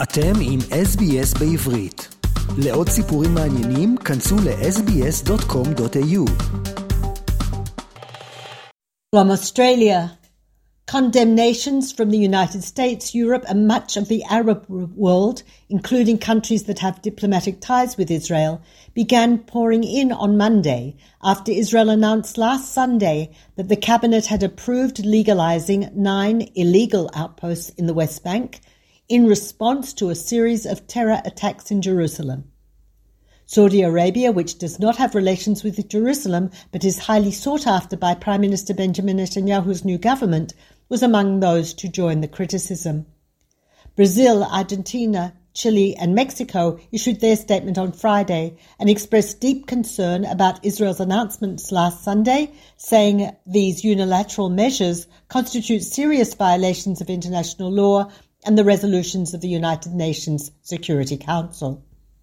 אתם עם SBS בעברית. לעוד סיפורים מעניינים, כנסו ל-sbs.com.au. From Australia, condemnations from the United States, Europe and much of the Arab world, including countries that have diplomatic ties with Israel, began pouring in on Monday after Israel announced last Sunday that the cabinet had approved legalizing 9 illegal outposts in the West Bank in response to a series of terror attacks in Jerusalem. Saudi Arabia, which does not have relations with Jerusalem but is highly sought after by Prime Minister Benjamin Netanyahu's new government, was among those to join the criticism. Brazil, Argentina, Chile and Mexico issued their statement on Friday and expressed deep concern about Israel's announcements last Sunday, saying these unilateral measures constitute serious violations of international law and the resolutions of the United Nations Security Council.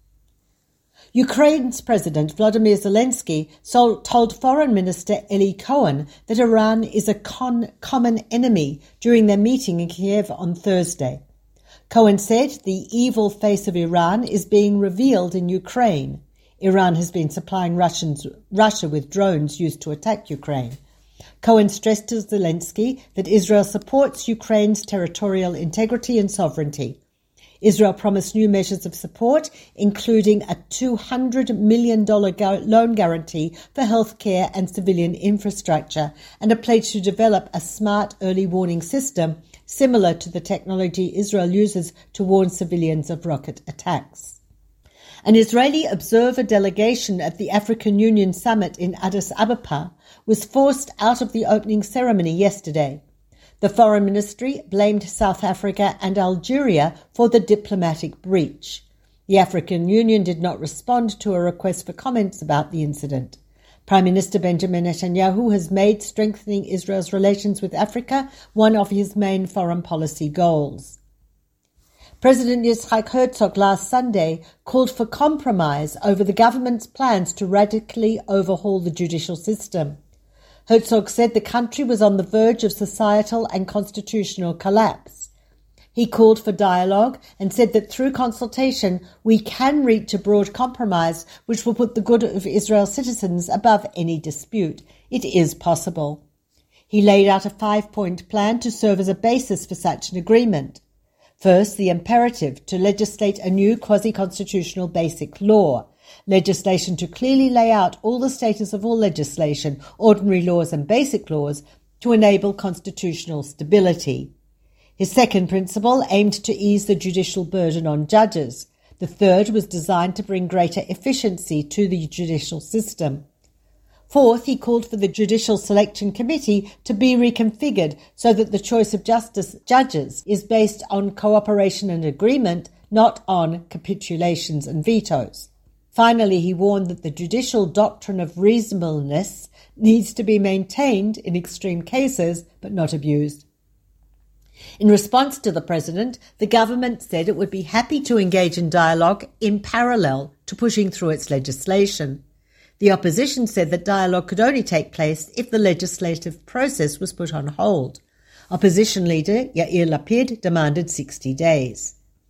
Ukraine's President Volodymyr Zelensky told Foreign Minister Eli Cohen that Iran is a common enemy during their meeting in Kiev on Thursday. Cohen said the evil face of Iran is being revealed in Ukraine. Iran has been supplying Russia with drones used to attack Ukraine. Cohen stressed to Zelensky that Israel supports Ukraine's territorial integrity and sovereignty. Israel promised new measures of support, including a $200 million loan guarantee for healthcare and civilian infrastructure, and a pledge to develop a smart early warning system similar to the technology Israel uses to warn civilians of rocket attacks. An Israeli observer delegation at the African Union summit in Addis Ababa was forced out of the opening ceremony yesterday. The Foreign Ministry blamed South Africa and Algeria for the diplomatic breach. The African Union did not respond to a request for comments about the incident. Prime Minister Benjamin Netanyahu has made strengthening Israel's relations with Africa one of his main foreign policy goals. President Yitzhak Herzog last Sunday called for compromise over the government's plans to radically overhaul the judicial system. Herzog said the country was on the verge of societal and constitutional collapse. He called for dialogue and said that through consultation we can reach a broad compromise which will put the good of Israel's citizens above any dispute. It is possible. He laid out a 5-point plan to serve as a basis for such an agreement. First, the imperative to legislate a new quasi-constitutional basic law. Legislation to clearly lay out all the status of all legislation, ordinary laws and basic laws, to enable constitutional stability. His second principle aimed to ease the judicial burden on judges. The third was designed to bring greater efficiency to the judicial system. Fourth, he called for the Judicial Selection Committee to be reconfigured so that the choice of judges is based on cooperation and agreement, not on capitulations and vetoes. Finally, he warned that the judicial doctrine of reasonableness needs to be maintained in extreme cases, but not abused. In response to the president, the government said it would be happy to engage in dialogue in parallel to pushing through its legislation. The opposition said that dialogue could only take place if the legislative process was put on hold. Opposition leader Yair Lapid demanded 60 days.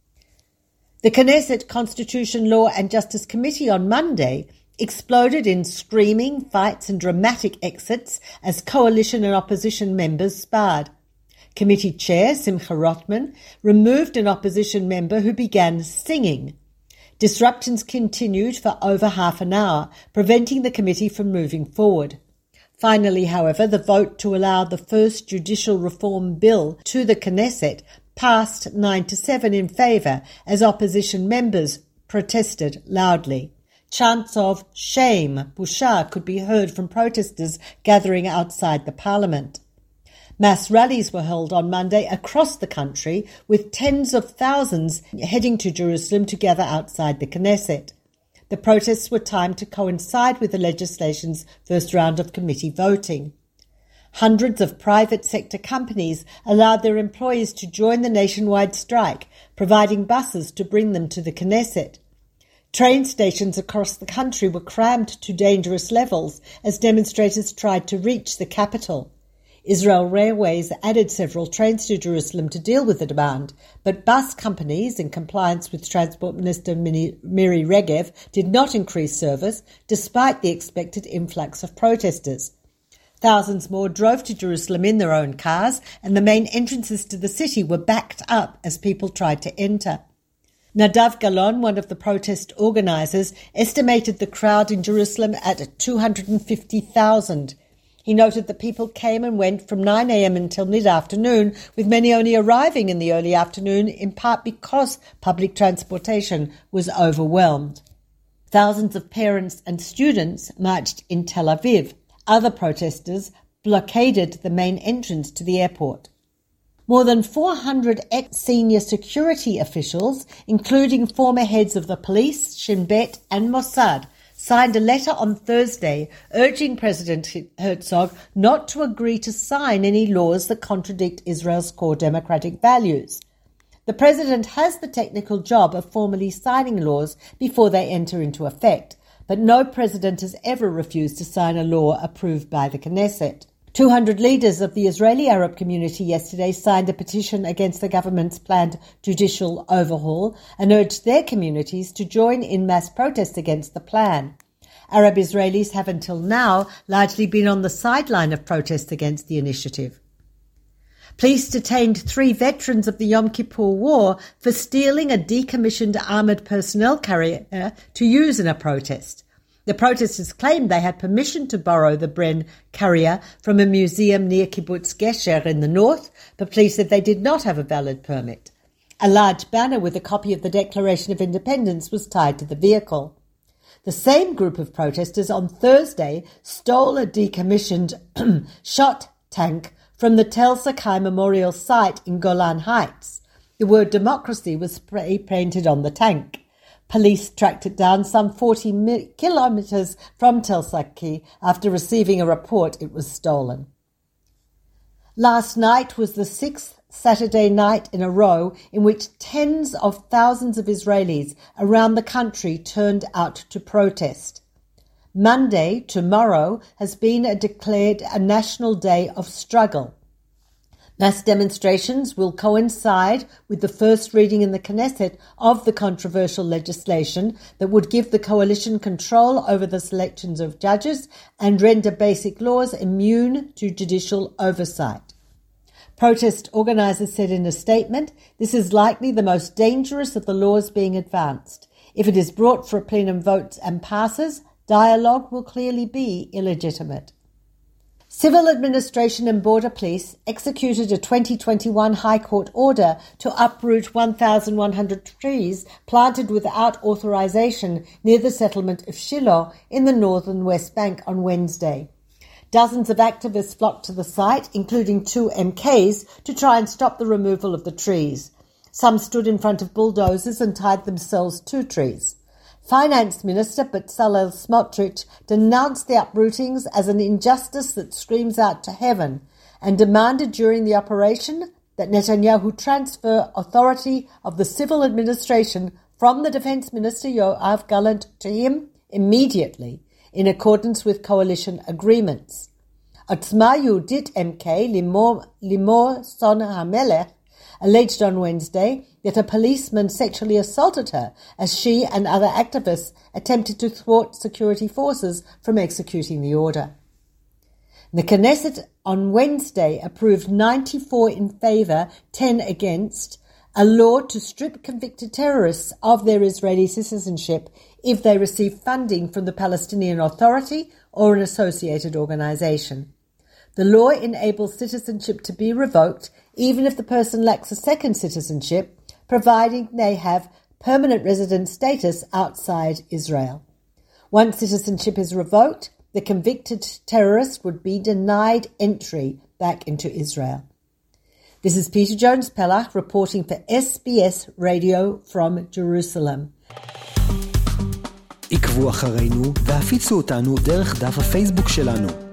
The Knesset Constitution, Law and Justice Committee on Monday exploded in screaming, fights and dramatic exits as coalition and opposition members sparred. Committee Chair Simcha Rothman removed an opposition member who began singing. Disruptions continued for over half an hour, preventing the committee from moving forward. Finally, however, the vote to allow the first judicial reform bill to the Knesset passed 9-7 in favour as opposition members protested loudly. Chants of shame, busha, could be heard from protesters gathering outside the parliament. Mass rallies were held on Monday across the country, with tens of thousands heading to Jerusalem to gather outside the Knesset. The protests were timed to coincide with the legislation's first round of committee voting. Hundreds of private sector companies allowed their employees to join the nationwide strike, providing buses to bring them to the Knesset. Train stations across the country were crammed to dangerous levels as demonstrators tried to reach the capital. Israel Railways added several trains to Jerusalem to deal with the demand, but bus companies, in compliance with Transport Minister Miri Regev, did not increase service despite the expected influx of protesters. Thousands more drove to Jerusalem in their own cars, and the main entrances to the city were backed up as people tried to enter. Nadav Galon, one of the protest organisers, estimated the crowd in Jerusalem at 250,000. He noted that people came and went from 9 a.m. until mid-afternoon, with many only arriving in the early afternoon, in part because public transportation was overwhelmed. Thousands of parents and students marched in Tel Aviv. Other protesters blockaded the main entrance to the airport. More than 400 ex-senior security officials, including former heads of the police, Shin Bet and Mossad, signed a letter on Thursday urging President Herzog not to agree to sign any laws that contradict Israel's core democratic values. The president has the technical job of formally signing laws before they enter into effect, but no president has ever refused to sign a law approved by the Knesset. 200 leaders of the Israeli Arab community yesterday signed a petition against the government's planned judicial overhaul and urged their communities to join in mass protests against the plan. Arab Israelis have until now largely been on the sideline of protests against the initiative. Police detained 3 veterans of the Yom Kippur War for stealing a decommissioned armoured personnel carrier to use in a protest. The protesters claimed they had permission to borrow the Bren carrier from a museum near Kibbutz Gesher in the north, but police said they did not have a valid permit. A large banner with a copy of the Declaration of Independence was tied to the vehicle. The same group of protesters on Thursday stole a decommissioned shot tank from the Tel Sakai Memorial Site in Golan Heights. The word democracy was spray-painted on the tank. Police tracked it down some 40 kilometres from Tel Sakai after receiving a report it was stolen. Last night was the 6th Saturday night in a row in which tens of thousands of Israelis around the country turned out to protest. Monday, tomorrow, has been declared a national day of struggle. Mass demonstrations will coincide with the first reading in the Knesset of the controversial legislation that would give the coalition control over the selections of judges and render basic laws immune to judicial oversight. Protest organisers said in a statement, "This is likely the most dangerous of the laws being advanced. If it is brought for a plenum vote and passes, dialogue will clearly be illegitimate." Civil Administration and Border Police executed a 2021 High Court order to uproot 1,100 trees planted without authorization near the settlement of Shiloh in the northern West Bank on Wednesday. Dozens of activists flocked to the site, including 2 MKs, to try and stop the removal of the trees. Some stood in front of bulldozers and tied themselves to trees. Finance Minister Bezalel Smotrich denounced the uprootings as an injustice that screams out to heaven and demanded during the operation that Netanyahu transfer authority of the civil administration from the Defense Minister Yoav Gallant to him immediately, in accordance with coalition agreements. Otzma Yehudit MK Limor Son HaMelech alleged on Wednesday that a policeman sexually assaulted her as she and other activists attempted to thwart security forces from executing the order. The Knesset on Wednesday approved 94 in favour, 10 against, a law to strip convicted terrorists of their Israeli citizenship if they receive funding from the Palestinian Authority or an associated organisation. The law enables citizenship to be revoked even if the person lacks a second citizenship, providing they have permanent resident status outside Israel. Once citizenship is revoked, the convicted terrorist would be denied entry back into Israel. This is Peter Jones-Pellach reporting for SBS Radio from Jerusalem. עקבו אחרינו והפיצו אותנו דרך דף הפייסבוק שלנו.